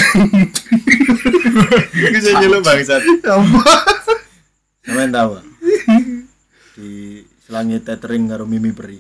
Bisa nyeluk bangsat. Sampeyan tahu. Di selangit tethering karo Mimi Peri.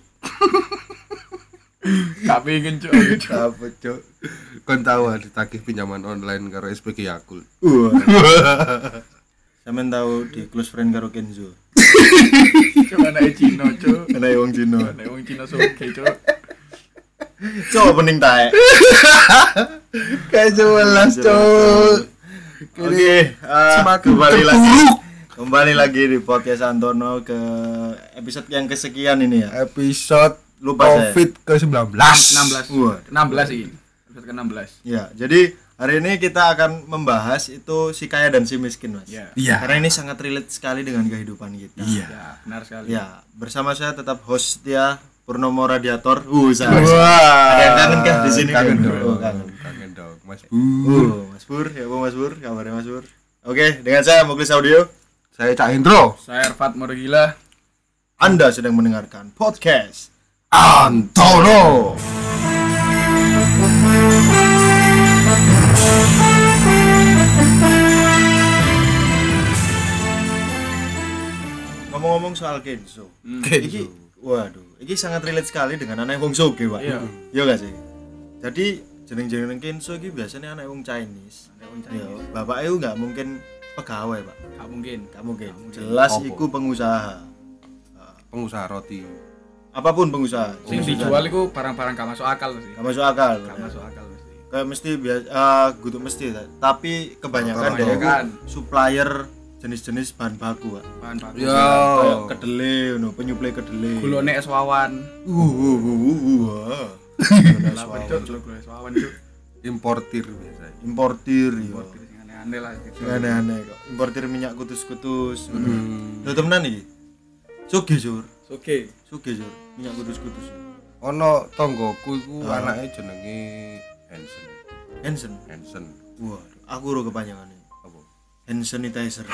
Gak pengen cuk. Apa cuk? Kon tahu ditagih pinjaman online karo SPG Yakult. Sampeyan tahu di close friend karo Kenzo. Cuk anake Cina cuk. Ana wong Cina. Anake wong Cina soge cuk. Coba pening taek. Kayak jelas cuk. Oke, kembali lagi di podcast Antono ke episode yang kesekian ini ya. Episode Lupa COVID ke-19. 16. Wah. 16 ini. Episode ke-16. Ya, jadi hari ini kita akan membahas itu si kaya dan si miskin, Mas. Ya. Iya. Karena ini sangat relate sekali dengan kehidupan kita. Iya. Ya, benar sekali. Ya, bersama saya tetap host setia Purnomo Radiator. Wah. Ada yang kangen kah di sini? Kangen kan? dong. Oh, kangen. Kangen dong, Mas Bu. Mas Pur, ya Mas Pur, kabarnya Mas Pur. Oke, dengan saya Muklis Audio. Saya Cak Hendro. Saya Erfat Morgila. Anda sedang mendengarkan podcast Antono. Ngomong-ngomong soal Kenzo. Iki waduh, iki sangat relate sekali dengan anak wong soge, Pak. Iya. Iya gak sih? Jadi jeneng-jeneng Kenzo iki biasanya anak wong Chinese. Iya, bapak itu enggak mungkin pegawai, Pak. Gak mungkin. Enggak mungkin. Jelas Apa? iku pengusaha. Pengusaha roti. Apapun pengusaha. Sing dijual iku barang-barang gak masuk akal sih. Gak masuk akal. Gak masuk akal mesti. Kayak mesti biasa kudu mesti tapi kebanyakan dia Kebanyakan. supplier jenis-jenis bahan baku, Pak. Bahan baku. Yo. Kayak kedelai ngono, penyuplai kedelai. Gulone es wawan. Wah. Lah pencuk gulone es wawan cuk. Importir biasanya. Importir yo. Importir sing aneh-aneh lah gitu. Sing aneh-aneh kok. Importir minyak kutus-kutus. Lho temenan iki. Sugih, Sur. Oke. Sugih, Sur. Minyak kutus-kutus. Ono tonggoku iku anake jenenge Hansen. Hansen. Wah, aku ro kepanjangane. Apa? Hand sanitizer.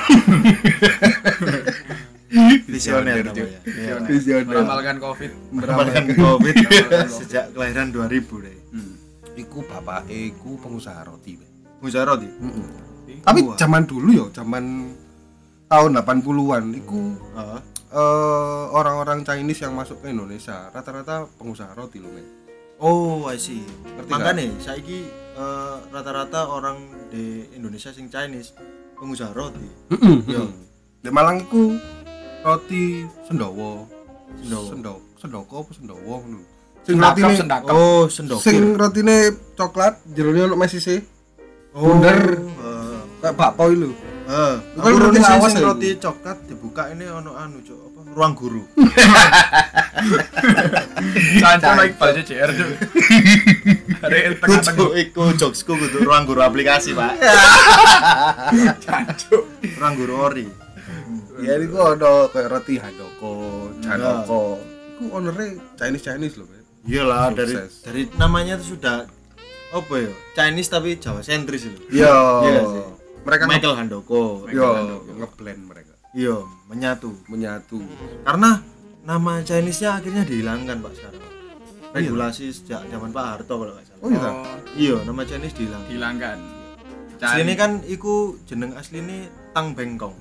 Visioner namanya. Iya. Visioner. Meramalkan Covid. Meramalkan Covid sejak kelahiran 2000 deh. Iku bapake iku pengusaha roti. Pengusaha roti. Tapi Wah. zaman dulu ya, zaman tahun 80-an iku Heeh. orang-orang Chinese yang masuk ke Indonesia rata-rata pengusaha roti loh, men. Oh, I see. Ngerti Makanya saiki rata-rata orang di Indonesia sing Chinese pengusaha roti. Yo. Di Malang iku roti Sendawa. Sendawa. Sendoko apa Sendawa ngono. Sendakap. Oh, sendokir. Sing rotine coklat, jerone ono mesise. Oh, bunder. heeh. Kayak bakpao iki lho. Aku Kan roti roti lawas sing ya, roti coklat dibuka ini ono anu, Cuk, apa? Ruang guru. Sanco naik bal CCR cuk. Are tengah-tengah Kudu iku jokesku kudu ruang guru aplikasi, Pak. jancuk. Ruang guru ori. Ya iku ono kayak roti Handoko, Janoko. Iku owner-e Chinese lho, men. Iyalah Sukses. dari namanya itu sudah apa ya? Chinese tapi Jawa sentris lho. Iya. Iya sih. Mereka Michael Handoko. ngeblend mereka. Iya, menyatu. Karena Nama Chinese-nya akhirnya dihilangkan, Pak, sekarang. Regulasi sejak zaman Pak Harto kalau nggak salah. oh iya. Iya, nama Chinese dihilangkan. Hilangkan. Aslinya kan iku jeneng asline Tang Bengkong.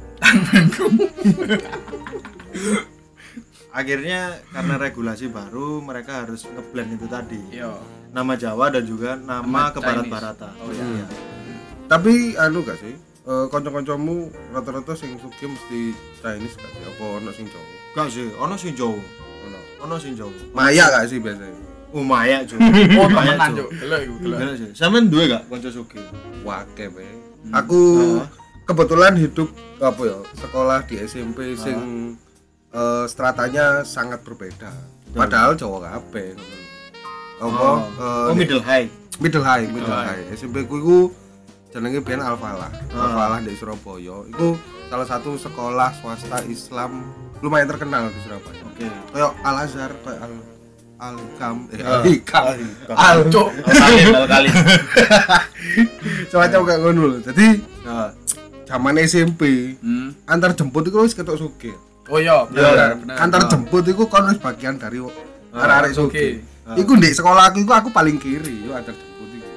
Akhirnya karena regulasi baru mereka harus ngeblend itu tadi. Yo. Nama Jawa dan juga nama Nama kebarat-baratan. Oh iya. Tapi anu gak sih? Kanca-kancamu rata-rata sing sugih mesti Chinese gak sih? Apa ono sing Jawa? Gak sih, ono sing Jawa. Ono. Ono sing Jawa. Maya gak sih biasanya? Oh, Maya, Cuk. Oh, Maya, temenan Cuk. cuk. Delok iku, delok. Gila sih. Sampeyan duwe gak kanca sugih? Wake be. Aku kebetulan hidup apa ya? Sekolah di SMP sing stratanya sangat berbeda. Padahal Jawa kabeh ngono. Apa? Oh, middle high. Middle high. SMP ku iku jenenge biyen Al-Falah. Al-Falah di Surabaya. Iku salah satu sekolah swasta Islam lumayan terkenal di Surabaya. Oke. Kayak Al-Azhar, kayak Al-Hikam, Cuk. Kali. semacam kayak ngono lho. Jadi Nah, zaman SMP antar jemput itu wis ketok sugih. Oh iya, bener. Antar jemput itu kan wis bagian dari arek-arek sugih. Oke. Iku ndek sekolah aku paling kiri yo antar jemput iku.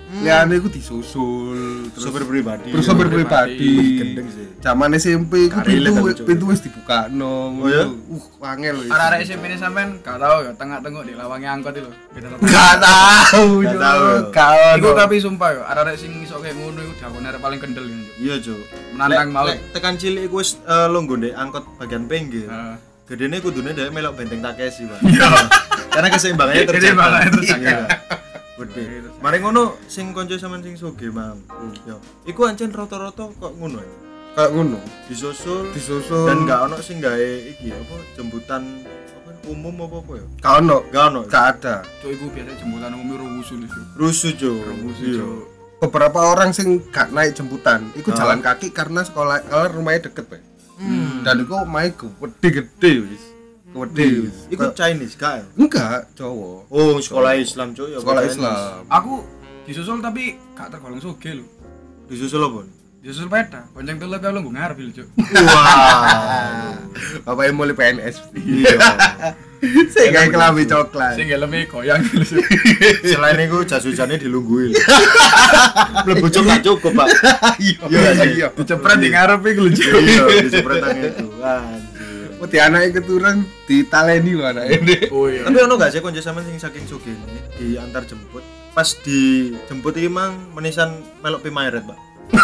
Liyane iku disusul terus Sopir pribadi. terus sopir pribadi. Gendeng sih. Zaman SMP iku Karele tapi, Cuk. pintu wis dibukakno. Oh, ya? Angel wis. Arek-arek SMP ini sampean gak tau ya tengah-tengok di lawange angkot itu. Gak tahu, Gak tahu. Iku tapi sumpah yo, arek-arek sing iso kayak ngono iku dakone arek paling kendel yo. Iya, Cuk. Menantang maut. Lek tekan cilik iku wis longgo ndek angkot bagian pinggir. Heeh. Gedene kudune dhek melok benteng Takeshi, Pak. Iya. Karena keseimbangannya terjaga. Keseimbangannya terjaga. Iya. Gede. Mari ngono sing konco sampean sing sugih, Mang. Yo. Iku ancen rata-rata kok ngono ya. Kayak ngono. Disusul Disusul dan gak ono sing gawe iki apa jemputan apa umum apa ya? gak ono. Gak ono. Gak ada. Cuk iku biasa jemputan umum rusuh itu. Rusuh, Cuk. Iya. Beberapa orang sing gak naik jemputan iku Ah. jalan kaki karena sekolah kalau rumahnya deket, Pak. Dan iku omahe gede-gede wis. Gede wis. Iku Chinese gak ya? Enggak, Jawa. Oh, sekolah Islam, Cuk. Ya, Sekolah Chinese. Islam. Aku disusul tapi gak tergolong sugih lho. Disusul apa? Disusul peta, bonceng telu kalau nggo ngarep lho, Cuk. Wah. Bapaknya mulai PNS. Iya. Saya kayak kelambi coklat. Sing helme goyang lho, Cuk. Selain itu jas hujannya dilungguin. Mlebu cuk gak cukup, Pak. Iya, Iya, iya. Dicepret di ngarep iku lho, Cuk. Iya, disepretan itu. Anjir. Oh, di anaknya keturun ditaleni lho anaknya. Oh iya. Tapi ono gak sih konco sampean sing saking sugih di antar jemput? Pas dijemput iki mang menisan melok pimayret, Pak.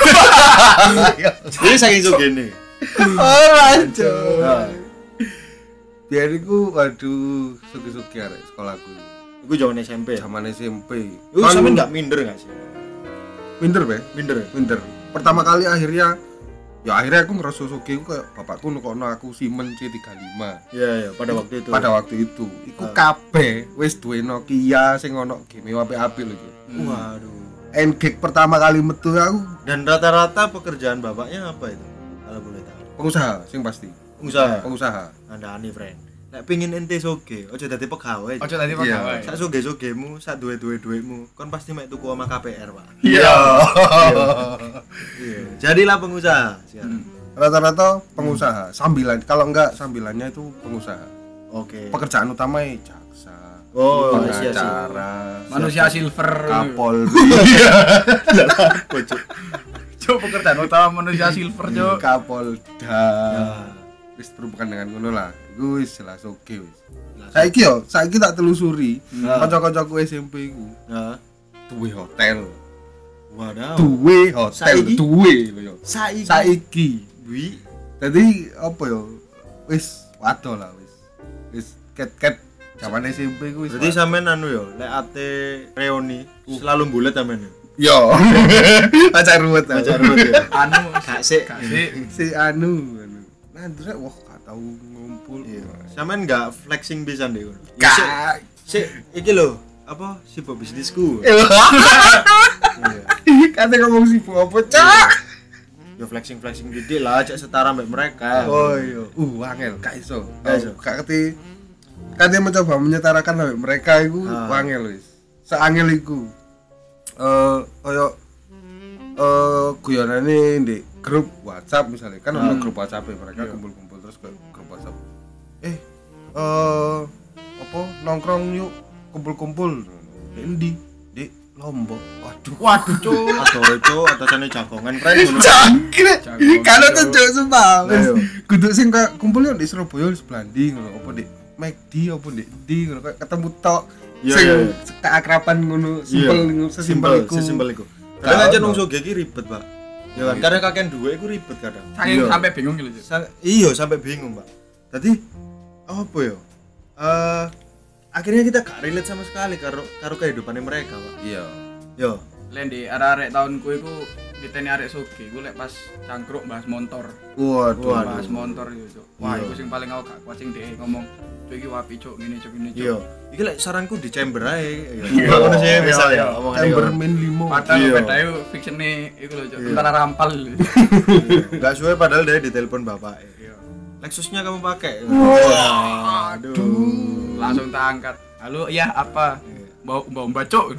Ini saking sugih nih. Oh, lanjut. Nah, Biar iku waduh sugi-sugi arek sekolahku. iku jaman SMP. Zaman SMP. Iku sampean gak minder gak sih? minder, Be? Minder ya? Minder. Pertama kali akhirnya aku ngerasa sugi ku kayak bapakku nukokno aku Siemens C35. Iya, iya, pada waktu itu. Pada waktu itu, iku kabeh wis duwe Nokia sing ono game apik-apik lho. Waduh. Engage pertama kali metu aku Dan rata-rata pekerjaan bapaknya apa itu? Kalau boleh tahu. pengusaha sing pasti. Pengusaha. Anda aneh, friend. Nek pengin ente soge, ojo dadi pegawai. Ojo tadi Iya. pegawai. Sak soge-sogemu, sak duwe-duwe-duwemu, kon pasti mek tuku sama KPR, Pak. Iya. Iya. Jadilah pengusaha sekarang. Rata-rata pengusaha. Sambilan kalau enggak sambilannya itu pengusaha. Oke. Pekerjaan utamanya jaksa. Oh, iya, iya. pengacara, Manusia silver. Kapolri, Pojok. Cuk pekerjaan utama manusia silver, Cuk. Kapolda. Ya. Wis berhubungan dengan ngono lah. Iku wis jelas oke wis. Saiki tak telusuri. Kanca-kancaku SMP iku Nah, duwe hotel. wadaw. Duwe hotel, Saiki? duwe lho yo. Saiki. Saiki. Wi. Dadi apa yo? Wis wado lah wis. Wis ket-ket zaman SMP ku wis. Berarti sampean anu yo, lek ate reuni selalu bulet sampean. yo. Pacar ruwet. Pacar ruwet ya. Anu Gak sik. Si anu. Nah, terus wah gak tau ngumpul. Iya. Sampean enggak flexing pisan deh. Gak. Sik, iki lho, apa sibuk bisnisku. Iya. Iya. Kata ngomong si apa, Cak? Yo flexing gede lah, cek setara mbek mereka. Oh iya. Angel, gak iso. Gak iso. Gak keti. Kate mencoba menyetarakan sampai mereka iku angel wis. Seangel iku. Kaya guyonane di grup WhatsApp misalnya kan ono grup WhatsApp mereka kumpul-kumpul terus ke grup WhatsApp. Apa nongkrong yuk kumpul-kumpul. Di endi? Di Lombok. Waduh, Cuk. Atau atasannya jagongan friend ngono. Cangkir. Kalau tunjuk sumpah. Ayo. Kudu sing kayak kumpul yo di Surabaya di Blandi ngono apa di McD apa di ngono kayak ketemu tok. Iya, Sing iya. keakraban ngono simpel sesimpel iku. Sesimpel iku. Kadang aja nung soge iki ribet, Pak. Ya kan, kadang kakek duwe iku ribet kadang. Saking sampai bingung gitu, Cuk. Iya, sampai bingung, Pak. Tadi apa ya? Akhirnya kita gak relate sama sekali karo kehidupannya mereka, Pak. Iya. Yo. Len di arek-arek tahunku iku diteni arek soge, iku lek pas cangkruk bahas motor. Waduh. Bahas motor itu, Cuk. Wah, Iya. iku sing paling aku gak kuat sing dhek ngomong, "Cuk iki wapi, Cuk, ngene, Cuk, ngene, Iya. Cuk." Iki lek saranku di chamber ae. Iya. Ngono sih Iya, misalnya iya. omongan Chambermain 5. Padahal Iya. bedanya fiksione iku lho, Cuk. Iya. Tentara rampal. Enggak suwe padahal dia ditelepon bapak. Lexusnya kamu pakai. Aduh. Langsung tak angkat. Halo, iya apa? Mbak Cuk.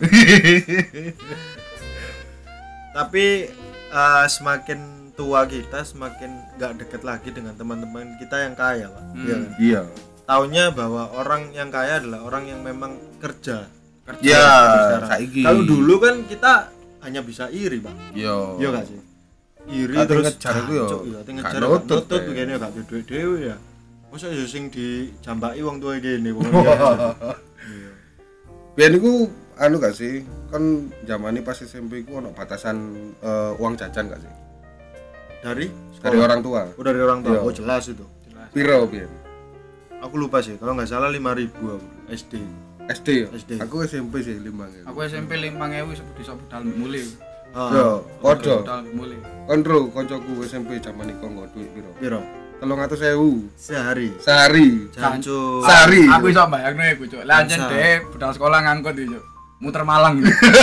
Tapi semakin tua kita semakin nggak deket lagi dengan teman-teman kita yang kaya, Pak. Iya kan? Iya. Taunya bahwa orang yang kaya adalah orang yang memang kerja. Iya, Sekarang. saiki. Kalau dulu kan kita hanya bisa iri, Pak. Yo. Iya gak sih? Iri Ate terus ngejar iku yo, jancuk, iya, ate ngejar gak gak nutut, nutut Pak. begini gak duwe duit dhewe ya. Masa yo sing dijambaki wong tuwa kene wong. Iya. Biyen iku anu gak sih? Kan zamane pas SMP iku ono batasan uang jajan gak sih? Dari Dari orang tua. Oh, dari orang tua. Iya. Oh, jelas itu. Piro biyen? Aku lupa sih, kalau nggak salah 5.000 aku SD. SD ya? SD. Aku SMP sih 5.000. Aku SMP 5.000 sebut iso budal mulai. Yo, padha. Budal mulai. Kontrol kancaku SMP zaman iku nggo duit piro? Piro? 300.000 Sehari. sehari. Jancuk. Sehari. Aku iso bayangno iku, Cuk. Lah anjen Bangsa. dhek budal sekolah ngangkut iki, Cuk. Muter Malang.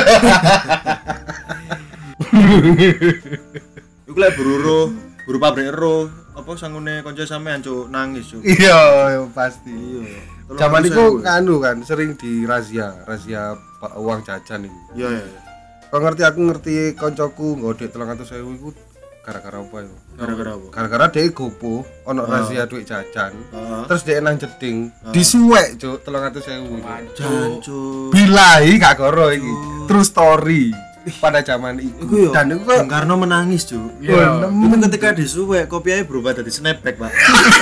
Iku lek buru pabrik ero, apa sangune kanca sampean cuk nangis cuk. Iya, pasti. Iya. Zaman iku anu kan sering di razia uang jajan iku. Iya iya. Kau ngerti aku ngerti koncoku nggo duit 300.000 iku gara-gara apa ya? Gara-gara apa? Gara-gara dhek gopo ono razia duit jajan. Heeh. Terus dhek nang jeding disuwek cuk 300.000 iku. Jancuk. Bilai gak goro iki. True story pada zaman itu. Iku yo. Dan iku kok Bung Karno menangis cuk. Iya. Itu ketika disuwek kopiahnya berubah dari snapback, Pak.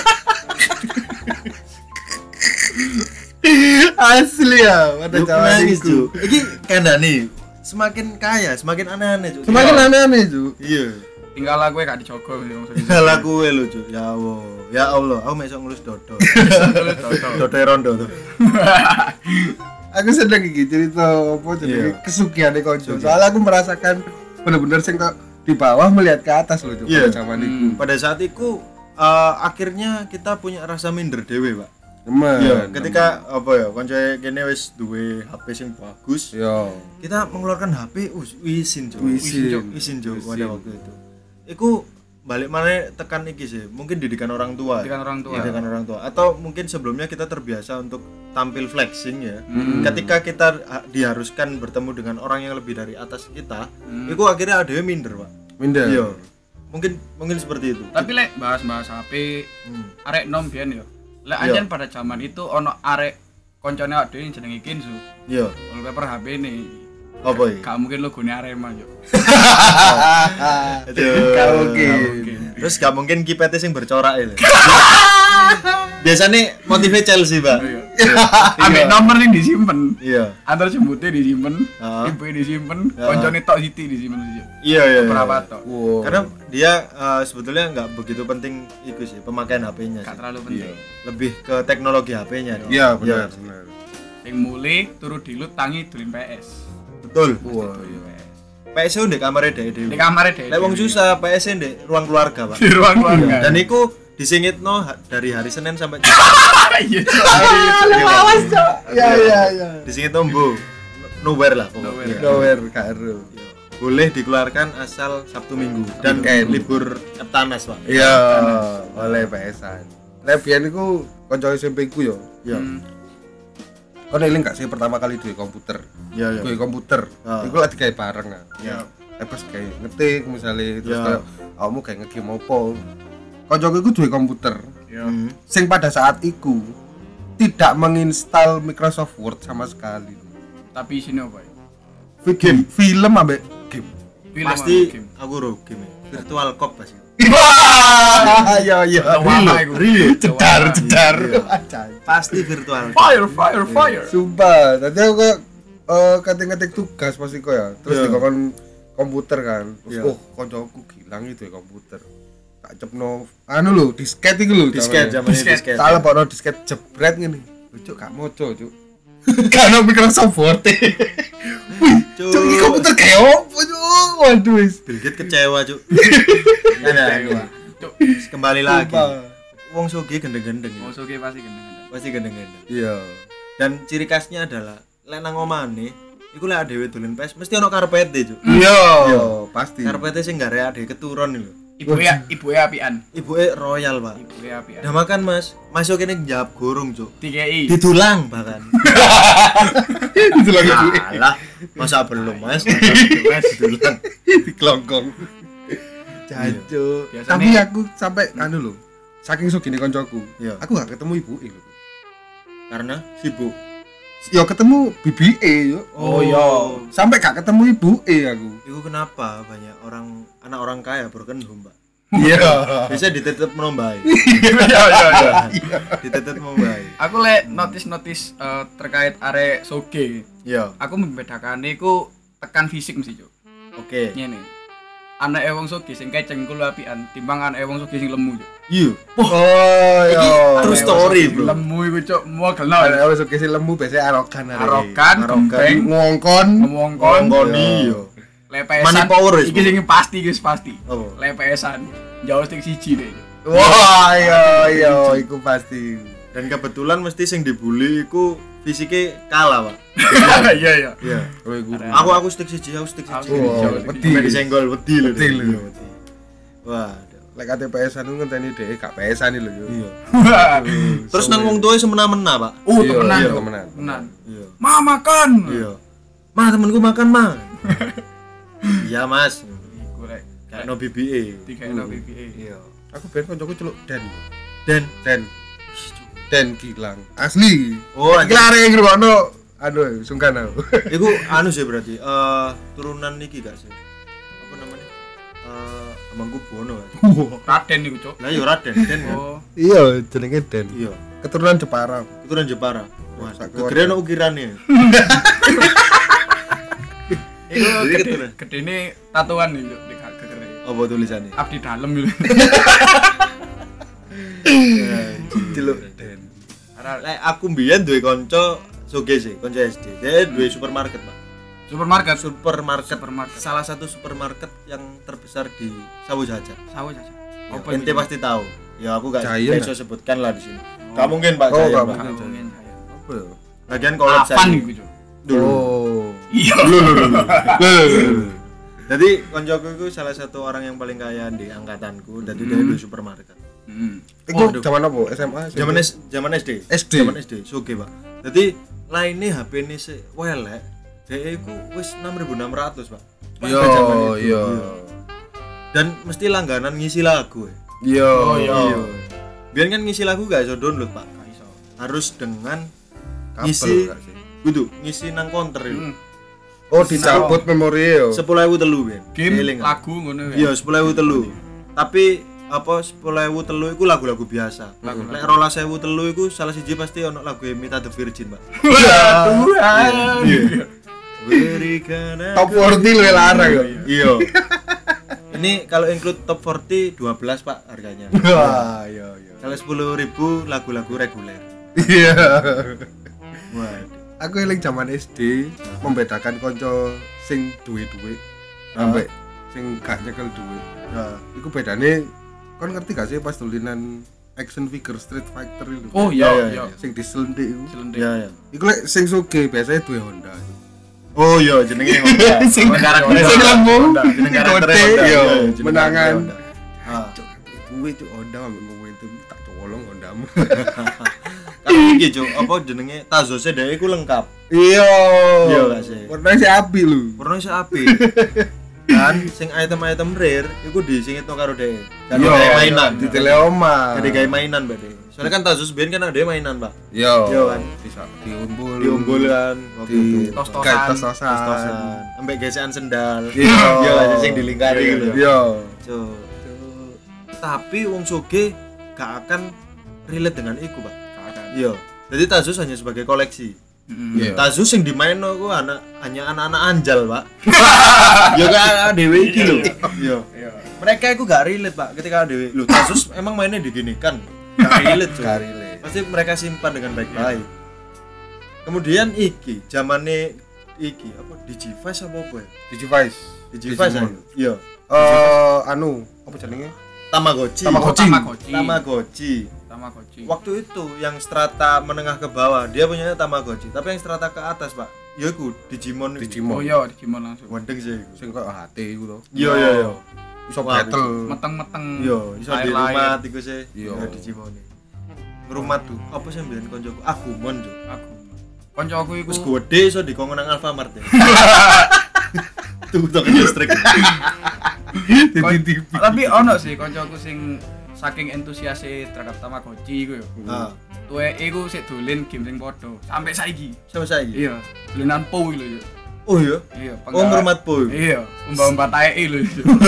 asli ya pada Yo, zaman menangis itu. cuk. Iki kandhane semakin kaya, semakin aneh-aneh cuk. Semakin aneh-aneh cuk. Iya. Tinggal aku gak dijogo wong sedih. Salah kowe lho cuk. Ya Allah. Ya Allah, aku mesok ngelus dodo. Dodo rondo tuh. Aku sedang iki cerita apa jenenge Iya. kesugihan konco. Soalnya aku merasakan bener-bener sing kok di bawah melihat ke atas loh cuk Iya. pada zaman itu. Pada saat itu akhirnya kita punya rasa minder dewe, Pak. Temen. Iya, ketika apa ya, konco kene wis duwe HP sing bagus, Yo. kita mengeluarkan HP wisin, Cuk. Wisin, Cuk, pada waktu itu. Iku balik mana tekan iki sih, mungkin didikan orang tua. Didikan orang tua. Didikan orang tua. Atau mungkin sebelumnya kita terbiasa untuk tampil flexing ya. Ketika kita diharuskan bertemu dengan orang yang lebih dari atas kita, itu akhirnya ada yang minder, Pak. Minder. Iya. Mungkin seperti itu. Tapi lek bahas-bahas HP, arek nom biyen yo. Lek Iya. anjen pada zaman itu ono arek koncone awake dhewe jenenge Kinsu. Iya. Wallpaper HP ini. Apa iki? Gak mungkin logone Arema yo. Gak mungkin. Terus gak mungkin kipetnya sing bercorak itu. Biasanya motifnya Chelsea, Pak. Ambek nomor yang disimpen. Iya. Antar jembutnya disimpen, Heeh. ibunya disimpen, koncone tok Siti disimpen sih. Iya. Berapa tok? Wow. Karena dia sebetulnya nggak begitu penting itu sih pemakaian HP-nya Gak sih. terlalu penting. Lebih ke teknologi HP-nya. Iya benar benar. Sing mulai turu dilut tangi dolin PS. Betul. Wah, PS ndek kamare dhewe. Di kamar deh. Lek wong susah PS ndek ruang keluarga, Pak. di ruang keluarga. Dan iku disingitno dari hari Senin sampai Iya. Awas cok. Ya. disingitno mbo. Nowhere lah pokoknya. Nowhere karo. Boleh dikeluarkan asal Sabtu Minggu dan Weekend. libur Eptanas, Pak. Iya, oleh PS-an. Lek biyen iku kanca SMP ku yo. Iya. Kon eling gak sih pertama kali duwe komputer? Iya. Duwe komputer. Ah. Iku lagi gawe bareng kan. Iya. Pas kayak ngetik misalnya terus Ya. kayak kamu kayak nge-game apa. Kancaku iku duwe komputer. Hmm. Sing pada saat iku tidak menginstal Microsoft Word sama sekali. Tapi sini apa ya? Game, film ambek game. Film Pasti sama game. aku ro game. Virtual Cop pasti. Iya iya. Lama iku. Jedar. Pasti virtual. Fire. Sumpah, tadi aku kayak ketik-ketik tugas pasti kok ya. Terus Iya. dikon komputer kan. Terus Iya. koncoku gilang itu ya komputer. Tak cepno anu lho, disket iku lho. Disket namanya. zamannya disket. Tak lebokno disket jebret ngene. Cuk gak moco, Cuk. Karena Microsoft Word. Cuk, iki komputer kayak opo, Cuk? Waduh wis. Bill Gates kecewa, Cuk. Ada. Cuk, Kembali lagi. Sumpah. Wong sugih gendeng-gendeng. Ya. musuhnya pasti gendeng-gendeng. Pasti gendeng-gendeng. Iya. Dan ciri khasnya adalah lek nang omane iku lek dhewe dolen PS mesti ono karpete, Cuk. Iya, pasti. Karpete sing gak rek dhewe keturun lho. Ibu apian. Ibuke royal, Pak. Ibu apian. Udah makan, Mas. Masuk kene njawab gorong, Cuk. TKI. Ditulang bahkan. Itu lagi Alah, masa belum, Mas? Mas ditulang. di kelongkong. Jancuk. Biasanya- Tapi aku sampai anu lho. Saking sugine koncoku. Iya. Aku gak ketemu ibuke lho. Karena sibuk. Yo ketemu BBE yo. Oh iya. Sampai gak ketemu ibuke aku. Iku kenapa banyak anak orang kaya broken home, Pak? Iya. Bisa dititip menombai. Iya. Dititip menombai. Aku lek notis terkait arek soge. Iya. Aku membedakan iku tekan fisik mesti, Cuk. Oke. Ngene. Anake wong soge sing keceng kuwi apian timbang anake wong soge sing lemu, Cuk. Iya. Oh Iki iya. true story, Bro. Lemu iku, Cuk, muagelno. Ada wis oke sih lemu biasanya arogan arek. Arogan, gempeng, Ngongkon. ngomongkon, Ngoni yo. lepesan. Money power wis, Iki sing pasti, guys, pasti. Apa? Lepesan. Jauh sing siji deh. Wah, iya, iku pasti. Dan kebetulan mesti sing dibully iku fisiknya kalah, Pak. Iya. Iya. Oh, iku. Aku stick siji. Aku Oh, jauh wedi. Sampai disenggol wedi lho. Wedi lho. Iya, wedi. Wah. Lek kate PS-an ku ngenteni dhek gak PS-an lho yo. Iya. Terus nang wong tuwa semena-mena, Pak. Oh, Iya, temenan, iya, Cuk. temenan. Temenan. Iya. Ma makan. Iya. Ma, temenku makan, Ma. Iya, Mas. Iku rek. Kayak no BBE. Dikaino BBE. Iya. Aku ben koncoku celuk Den. Dan Den Gilang. Asli. oh, Iki arek ngrungokno aduh sungkan aku. iku anu sih berarti turunan niki gak sih? Apa namanya? Hamengkubuwono. Raden iku, Cuk. Lah yo Raden, Den kan. Oh. Iya, jenenge Den. Iya. Keturunan Jepara. Keturunan Jepara. Wah, Sak gegere ono ukirane. Iku Jadi gede, keturunan. gedene tatuan nih, Cuk, di gegere. Apa tulisannya? Abdi dalem gitu. Celuk Den. Lek aku mbiyen duwe kanca soge sih, kanca SD. Dia duwe supermarket, Pak. Supermarket. Supermarket. Supermarket. Salah satu supermarket yang terbesar di Sawu Jajar. Sawo saja. Ya, Apa ente pasti tahu. Ya aku gak Giant, bisa sebutkan lah di sini. Gak mungkin Pak Oh, Giant, gak Pak. mungkin. Apa ya? Lagian collab Avan saya. iku, Cuk. Dulu. Oh. Iya. Jadi koncoku itu salah satu orang yang paling kaya di angkatanku. Jadi dia di supermarket. Iku zaman apa? SMA? Zaman SD. SD. Zaman SD. Soge, Pak. Jadi lainnya HP ini se welek. Dia itu wis 6.600, Pak. Pada Yo, zaman itu. yo. Dan mesti langganan ngisi lagu. Yo. Oh, iya. Biar kan ngisi lagu gak iso download, Pak. Gak iso. Harus dengan Kabel ngisi gak sih? gitu, ngisi nang counter itu. Oh, dicabut memori yo. 10.000 telu, Ben. Game Eling, lagu ngono iya 10.000 telu. Tapi apa 10.000 telu iku lagu-lagu biasa. Lek 12.000 telu iku salah siji pasti ono lagu Mita the Virgin, Pak. Tuhan. Iya. Berikan Top 40 lu larang yo. Iya. Ini kalau include top 40 12, Pak, harganya. Wah, yo. Kalau 10.000 lagu-lagu reguler. Iya. Waduh. Aku eling zaman SD membedakan konco sing duwe-duwe sampai sing gak nyekel duwe. Nah, Iku bedane kon ngerti gak sih pas dolinan action figure Street Fighter itu? Oh iya iya. Sing diselentik iku. Selendik. iya ya. Iku lek sing sugih biasanya duwe Honda. Oh iya jenenge Honda. Sing karakternya sing Honda. lemu, Honda. Jeneng karakternya kote, Honda. yo, Iya, jeneng menangan. karakternya Honda. Ah. Cuk, duwe cuk Honda ambek momentum tak colong Hondamu. Kalau iki Cuk, apa jenenge Tazose dhek iku lengkap. Iya. Iya gak sih? Warnanya si api lu. Warnanya sih apik. Dan sing item-item rare iku disingitno karo dhek. Jadi Iya, kayak mainan. di teleoma. Jadi kayak mainan, Mbak Dek. Soalnya kan Tazus biyen kan ada mainan, Pak. Iya. Iya kan? Bisa diumbul. Diumbul kan waktu di itu. Tos-tosan. kayak tos-tosan. Tos-tosan. Ambek gesekan sendal. Iya. Iya lah sing dilingkari gitu. Iya. Cuk. Tapi wong soge gak akan relate dengan iku, Pak. Iya. Jadi Tazus hanya sebagai koleksi. Iya. Tazus yang dimainno ku hanya anak-anak anjal, Pak. Ya kan dhewe iki lho. Iya. Mereka itu gak relate, Pak, ketika dhewe. Lho, Tazus emang mainnya diginikan. Gak relate, Cuk. Gak relate. Pasti mereka simpan dengan baik-baik. Kemudian iki zamane iki apa Digivice apa ya? Digivice. Digivice Digimon. ayo. Iya. Anu, apa jenenge? Tamagotchi. Tamagotchi. Tamagotchi. Waktu itu yang strata menengah ke bawah dia punya Tamagotchi, tapi yang strata ke atas, Pak, ya iku Digimon. Digimon. Oh iya, Digimon langsung. Wendeng sih iku. Sing koyo HT iku to. Iya iya iya. Iso Wah, battle. Meteng-meteng. Iya, iso di Lain-lain. rumah iku sih. Iya. Ya Digimon. Rumah tuh apa sih mbiyen koncoku? Agumon, Cuk. Aku. Koncoku iku Wis gede iso dikongkon nang Alfamart ya. Tuh listrik. Tapi ono sih koncoku sing saking entusiase terhadap Tamagotchi iku yo. Ah. tuwek iku sik dolen game sing padha sampai saiki. Sama saiki. Iya, dolenan Po lho yo. Oh iya. Iya, Ngurmat Po. Iya, umbah-umbah taeke lho.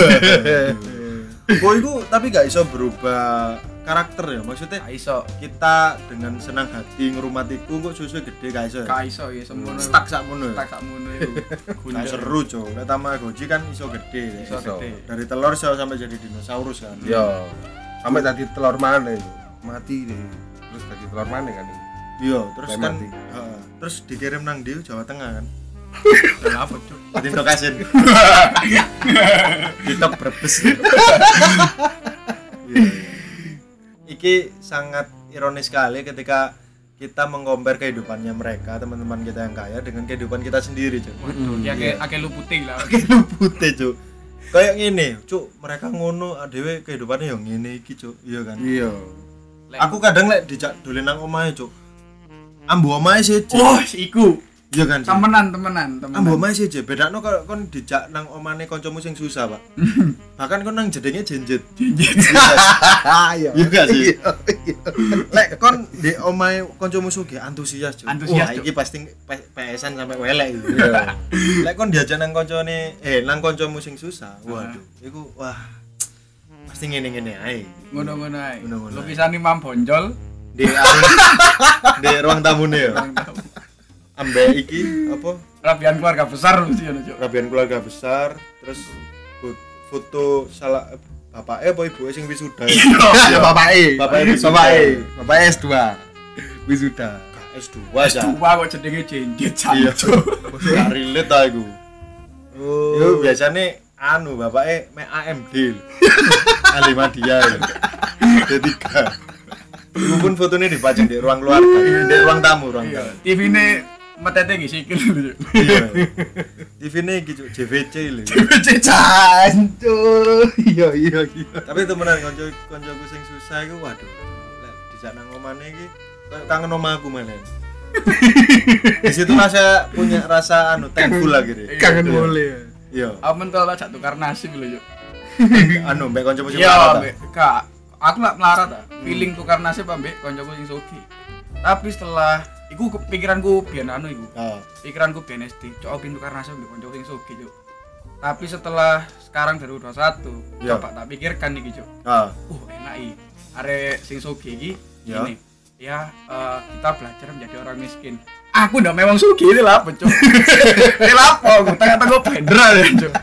Po iku tapi gak iso berubah karakter ya. Maksudnya Gak iso. kita dengan senang hati ngrumatiku kok susu gede gak iso. Gak iso ya semono. Stuck sakmono. Tak sakmono iku. Gak seru, Cuk. Nek Tamagotchi kan iso gede. Iso gede. Dari telur iso sampai jadi dinosaurus kan. Iya. Sampai tadi telur mana itu? Mati deh. Terus tadi telur mana kan itu? Iya, terus Kayak kan mati. terus dikirim nang Diu Jawa Tengah kan. Lah apa, Cuk? Tindak kasin. Ditok Brebes. Iya. Iki sangat ironis sekali ketika kita mengkompar kehidupannya mereka, teman-teman kita yang kaya dengan kehidupan kita sendiri, Cuk. Waduh, ya akeh lu putih lah. Putih, Cuk. Kayak ngene, Cuk, mereka ngono dhewe kehidupannya yang ngene iki, Cuk. Iya kan? Iya. Aku kadang lek dijak dolen nang omahe, Cuk. Ambu omahe siji. Oh, iku. Iya kan? Cuk? Temenan. Ambu omahe siji, bedakno kalau kon dijak nang omane kancamu sing susah, Pak. Bahkan kon nang jedenge jenjet. Iya. Iya gak sih? Lek kon di omahe kancamu sugih antusias, Cuk. Antusias, Wah, Cuk. iki pasti PS-an sampai welek iki. Iya. Lek kon diajak nang kancane nang kancamu sing susah. Waduh, iku wah pasti ngene-ngene ae. Ngono-ngono ae. Ngono-ngono ae. Lukisan Imam Bonjol. Di di ruang tamune ya. Ambek iki apa? Rabian keluarga besar mesti ngono, Cuk. Rabian keluarga besar, terus foto salah bapaknya apa ibuke sing wisuda. Ya bapake. Bapake Bapake S2. Wisuda. S2 aja. Tua kok jenenge jenjet Iya. Cuk. Gak relate ta iku. Oh. Yo biasane anu bapake mek AMD. Alimadia. D3. Iku pun fotonya dipajang di ruang keluarga, di ruang tamu, ruang tamu. TV-ne metete iki sikil lho, Cuk. Iya. TV-ne iki Cuk, JVC lho. Jancuk. Iya. Tapi temenan koncoku sing susah iku waduh. Lek dijak nang omane iki kayak kangen omahku malah. Di situ saya punya rasa thankful lagi deh. Kangen boleh. Iya. Amen to lah jak tukar nasib lho, Cuk. Mbek koncoku sing Iya, melarat. Mbak. Kak, aku lak melarat ta. Feeling tukar nasib ambek koncoku sing sugih. Tapi setelah iku pikiranku biyen anu iku. Ah. Pikiranku biyen SD, cok pintu tukar nasib ambek koncoku sing sugih, Cuk. Tapi setelah sekarang 2021, Ya. coba tak pikirkan iki, Cuk. Ah. Enak iki. Arek sing sugih iki Ya. gini. Ya, kita belajar menjadi orang miskin. Aku ndak memang sugih ini lah, Cuk. Ini lapo aku tengah-tengah bendera ya, Cuk.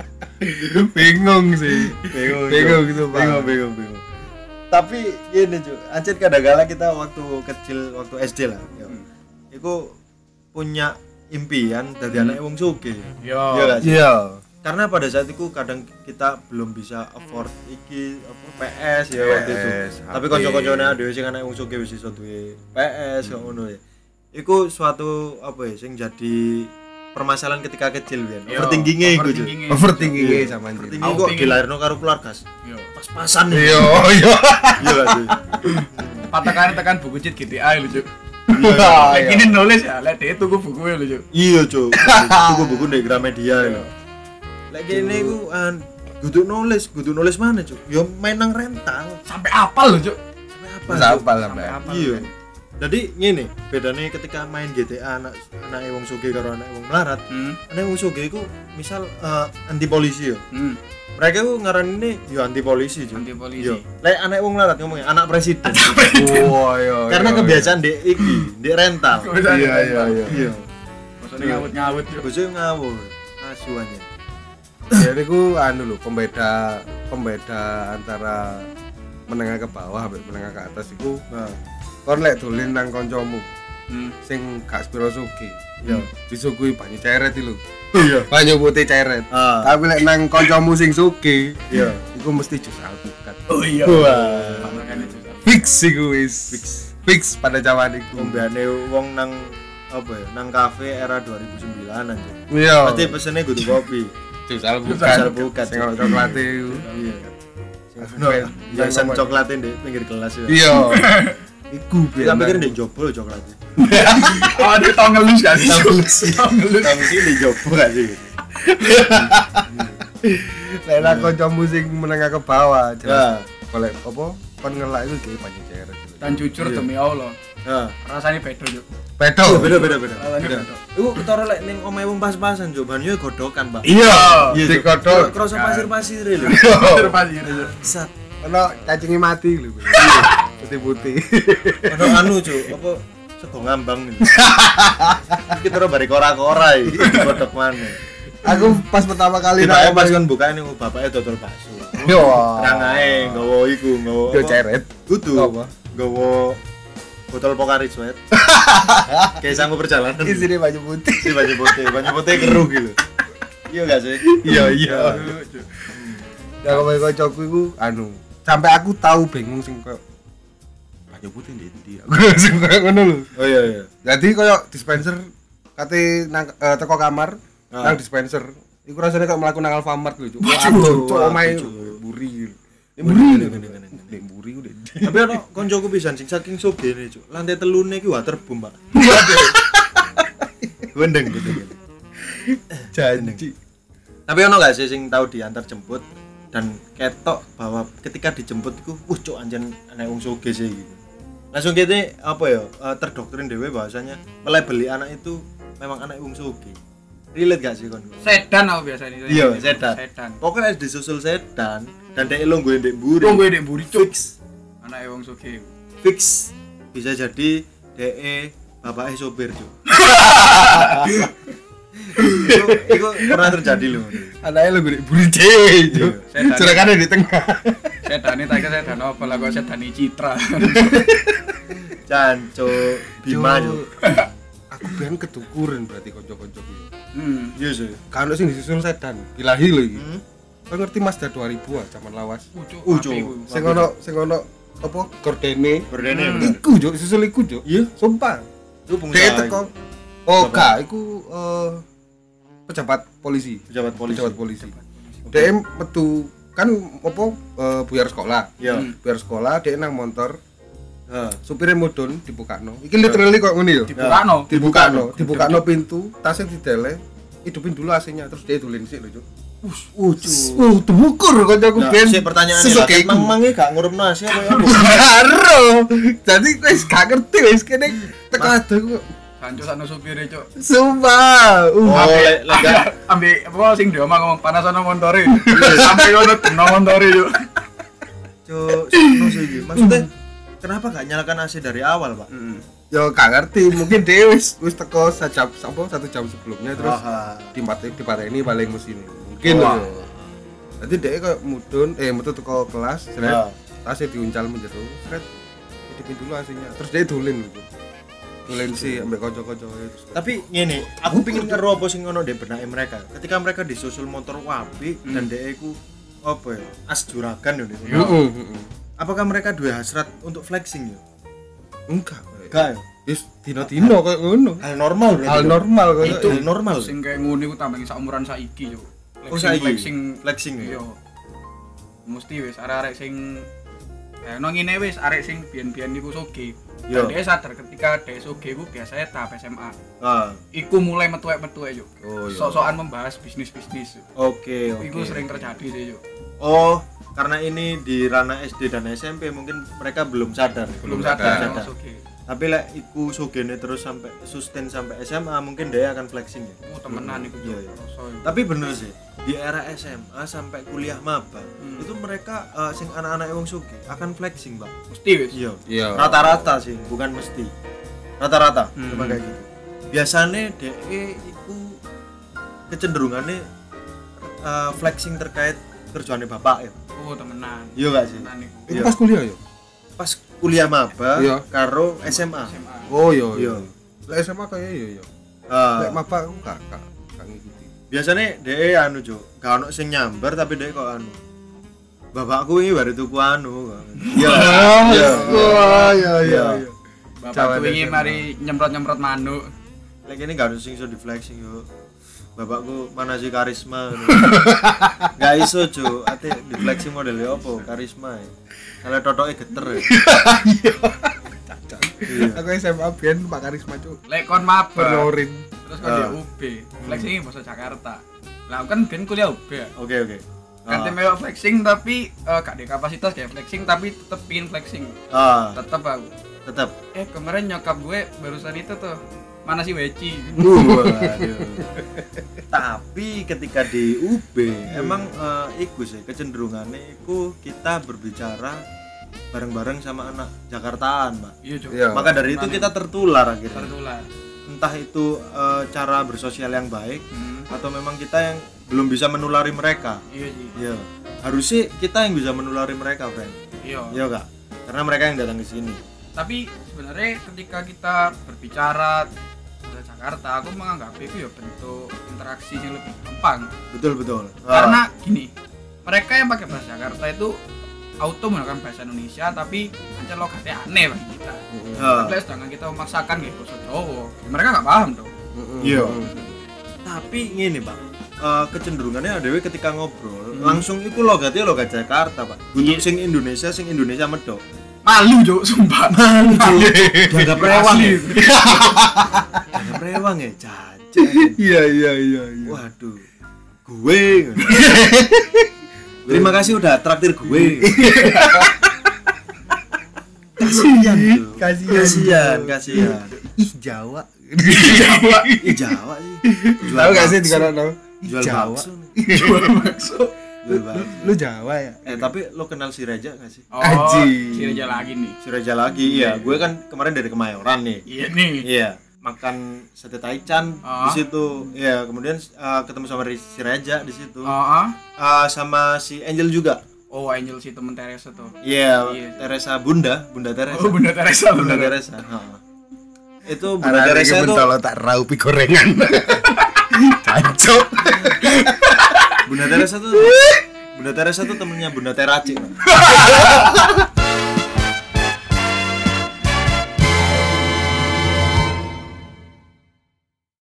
Bingung sih. Bingung gitu, Pak. Bingung. Tapi gini Cuk, ancen kadang-kala kita waktu kecil, waktu SD lah, ya. Iku punya impian dadi anak wong sugih. Yo. Iya gak sih? Iya. Karena pada saat itu kadang kita belum bisa afford iki apa PS ya waktu itu. PS, Tapi HP. kanca-kancane dhewe sing anak wong sugih wis iso duwe PS kok ngono ya. Iku suatu apa ya sing jadi permasalahan ketika kecil kan. Yo, Overthinking-e iku Cuk. Overthinking Iya. sama anjir. Overthinking Aku kok pingin- dilairno karo keluarga. Yo. Pas-pasan. Iya. Iya gak sih? Patakan tekan buku cheat GTA lho, Cuk. Iya. Lek kene nulis ya, lek dhek tuku buku lho, Cuk. Iya Cuk. Tuku buku ndek Gramedia lho. Lek kene iku kudu nulis mana Cuk? Ya main nang rental. Sampai apal lho, Cuk. Sampai apa? Terus Cuk? apa lah, Mbak? Apal. Iya. Jadi ngene, bedane ketika main GTA anak wong sugih karo anak wong melarat. Anak wong sugih iku misal anti polisi yo. Mereka ku ngaranine yo anti polisi, Cuk. Anti polisi. Yo. Lek anak wong melarat ngomongnya anak presiden. Oh, iya. Karena kebiasaan dek iki, dek rental. Iya. Iya. Maksudnya ngawut-ngawut, Cuk. Bojo ngawur. Asuhannya. Jadi ku anu lho, pembeda antara menengah ke bawah sampai menengah ke atas iku Nah, kon lek dolen nang kancamu Hmm. sing gak sepiro sugih. Iya. Disuguhi banyu ceret iki lho. Iya. Banyu putih ceret. Ah. Tapi lek nang kancamu sing sugih, Iya. iku mesti jus alpukat. Oh iya. Wah. Makanya Cuk. Fix iku wis. Fix pada zaman iku. Ombeane wong nang apa ya? Nang kafe era 2009-an. Cuk. Iya. Pasti pesene kudu kopi. Jus Jus alpukat. alpukat. Sing ono coklate iku. Iya. No, Biasa coklatnya di pinggir kelas ya. Iya. Iku Kita pikir di jopo coklatnya. Oh, dia tau ngelus kan? Tau ngelus. Tau ngelus. Tapi sih di jopo gak sih? Lek nang kancamu sing menengah ke bawah, Ya. jelas. Golek apa? Kon ngelak iku kayak banyu ceret. Dan jujur Iya. demi Allah, Heeh. Rasane beda yo. Beda. Beda. Rasane beda. Iku utara lek ning omahe wong pas-pasan yo banyu godokan, Pak. Iya, Iya, digodhog. kroso pasir-pasir lho. Terpasir yo. Sat. Ono cacingnya mati lho. Putih-putih. Ono anu, Cuk, apa sego ngambang iki. Kita ora bare kora-kora iki digodhog maneh. Aku pas pertama kali Kita pas kan bukain ning bapake dodol bakso. Yo. Nang ae nggawa iku, nggawa Yo apa? ceret. Kudu. Apa? Nggawa botol Pocari Sweat. Kayak sanggup perjalanan. Isine baju putih. Si baju putih keruh gitu. Iya enggak sih? Iya. Ya kowe kocokku iku anu, sampai aku tahu bingung sing koyo baju putih ndi. Aku sing koyo ngono lho. Oh iya. Jadi koyo dispenser kate nang teko kamar nang dispenser. Iku rasane kok mlaku nang Alfamart lho, Cuk. Aduh, cuk omahe buri. Buri udah. Tapi ono koncoku pisan sing saking sogene, Cuk. Lantai telune iki waterboom, Pak. Wendeng gitu. Janji. Tapi ono gak sih sing tahu diantar jemput dan ketok bahwa ketika dijemput iku cuk anjen anak wong sugih sih gitu. Langsung kene apa ya terdoktrin dhewe bahwasanya melebeli anak itu memang anak wong sugih. Relate gak sih kon? Sedan aku biasanya. Iya, sedan. Pokoknya disusul sedan dan dhek lungguhe ndek mburi. Lungguhe ndek mburi fix. Anake wong sugih. Fix bisa jadi dhek bapake sopir, Cuk. Iku pernah terjadi loh. Anake lu gede buri dhewe, Cuk. Sedan. Cerakane di tengah. Sedane tak kira sedan apa lah kok sedane Citra. Canco Bima, Cuk. Aku ben ketukuran berarti kanca-kancaku. Iya sih. Kan sing disusul sedan. Bilahi lho iki. Kau ngerti Mazda 2000 ah, zaman lawas. Cuk. Sing ono apa? Gordene. Gordene. Iku, Cuk, susul iku, Cuk. Iya. Sumpah. Itu pengusaha. Teko. Oh, gak, iku pejabat polisi. Pejabat polisi. DM metu kan apa buyar sekolah. Iya. Buyar sekolah dhek nang motor. Heeh. Supire mudun dibukakno. Iki literally kok ngene yo. Dibukakno pintu, tasnya didele, hidupin dulu AC-nya terus dia tulen sik lho, Cuk. Temukur kancaku ben. Sik pertanyaane lha mang-mange gak ngurupno AC apa ya? Karo. Jadi wis gak ngerti wis kene teko ado kok. Kancu sakno supire, Cuk. Sumpah. Lega. Ambek apa sing dia ngomong panas ana montore. Sampai ngono deno montore, Cuk. Cuk, sono sih iki. Maksudnya kenapa gak nyalakan AC dari awal, Pak? Yo gak ngerti, mungkin dia wis teko 1 jam sebelumnya terus dipateni paling mesin. Mungkin lho. Jadi dia kayak metu teko kelas, tasnya diuncal menjero, hidupin dulu AC-nya. Terus dia dolin gitu. Dolin sih ambek kanca-kanca terus. Tapi ngene, aku pengin ngeru apa sing ono ndek benake mereka. Ketika mereka disusul motor wapi dan dhek iku apa ya? As juragan yo. Apakah mereka duwe hasrat untuk flexing yo? Enggak. Enggak ya? Wis dino-dino koyo ngono. Hal normal berarti. Hal normal koyo Itu normal. Sing kayak ngono iku tambah sak umuran saiki, Cuk. Flexing yo. Mesti wis arek-arek sing nang ngene wis arek sing biyen-biyen niku sugih. Dan dia sadar ketika dia sugih iku biasanya tahap SMA. Iku mulai metuek-metuek, Cuk. Sok-sokan membahas bisnis-bisnis. Oke. Iku sering terjadi sih, Cuk. Oh, karena ini di ranah SD dan SMP mungkin mereka belum sadar. Tapi lek iku sugene terus sampai sustain sampai SMA mungkin dia akan flexing ya. Temenan iku. Tapi bener sih, di era SMA sampai kuliah maba itu mereka sing anak-anak wong sugih akan flexing, Pak. Mesti wis. Iya. Rata-rata sih, bukan mesti. Rata-rata cuma kayak gitu. Biasanya DE iku kecenderungannya flexing terkait kerjaannya bapak ya. Oh, temenan. Iya gak sih? Itu pas kuliah ya? Pas kuliah maba karo SMA. Oh iya. Lah SMA kayak iya. Lek maba aku gak ngikuti. Biasanya dhek anu, Cuk. Gak ono sing nyamber tapi dhek kok anu. Bapakku iki baru tuku anu. Iya. Iya. Bapakku iki mari nyemprot-nyemprot manuk. Lek kene gak ono sing iso di flexing yo. Bapakku mana sih karisma. Gak iso, Cuk. Ate di flexing modelnya apa? Karisma. Kalau totoknya geter ya. Aku SMA biyen Pak Karisma, Cuk. Lek kon maba. Perlorin. Terus kon di UB. Flexing bahasa Jakarta. Lah kan biyen kuliah UB ya. Oke. Ganti mewah flexing tapi gak ada kapasitas kayak flexing tapi tetep pingin flexing. Tetep aku. Tetap. Kemarin nyokap gue barusan itu tuh mana sih Weci. Waduh. Tapi ketika di UB emang iku sih kecenderungannya iku kita berbicara bareng-bareng sama anak Jakartaan, Pak. Iya, maka dari itu kita tertular akhirnya. Tertular. Entah itu cara bersosial yang baik atau memang kita yang belum bisa menulari mereka. Iya sih. Iya. Harusnya kita yang bisa menulari mereka, friend. Iya. Iya, Kak. Karena mereka yang datang ke sini. Tapi sebenarnya ketika kita berbicara ke Jakarta, aku menganggap itu ya bentuk interaksi yang lebih gampang. Betul. Karena gini, mereka yang pakai bahasa Jakarta itu auto menggunakan bahasa Indonesia, tapi aja logatnya aneh bagi kita. Tapi sedangkan kita memaksakan gitu bahasa Jawa, mereka nggak paham dong. Iya. Tapi gini, Pak. Kecenderungannya ADW ketika ngobrol langsung itu logat Jakarta, Pak. Untuk sing Indonesia medok. Malu, Cuk, sumpah. Malu, Cuk. Dianggap rewang. Dianggap rewang ya, caca. Iya. Waduh. Gue. Terima kasih udah traktir gue. Kasihan. Ih, Jawa. Jawa sih. Tahu gak sih di kono? Jual bakso. Lu Jawa ya? Tapi lo kenal si Reja gak sih? Si Reja lagi nih. Si Reja lagi, iya. Gue kan kemarin dari Kemayoran nih. Iya nih. Iya. Makan sate taichan di situ. Iya, kemudian ketemu sama si Reja di situ. Sama si Angel juga. Oh, Angel si temen Teresa tuh. Iya, Teresa Bunda Teresa. Oh, Bunda Teresa. Itu Bunda Teresa tuh kalau tak raupi gorengan. Cancok. Bunda Teresa tuh temennya Bunda Teraci.